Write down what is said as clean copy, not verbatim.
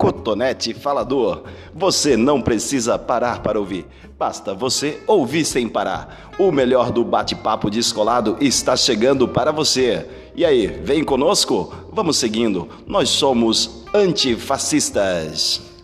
Cotonete Falador. Você não precisa parar para ouvir, basta você ouvir sem parar. O melhor do bate-papo descolado está chegando para você. E aí, vem conosco? Vamos seguindo, nós somos antifascistas.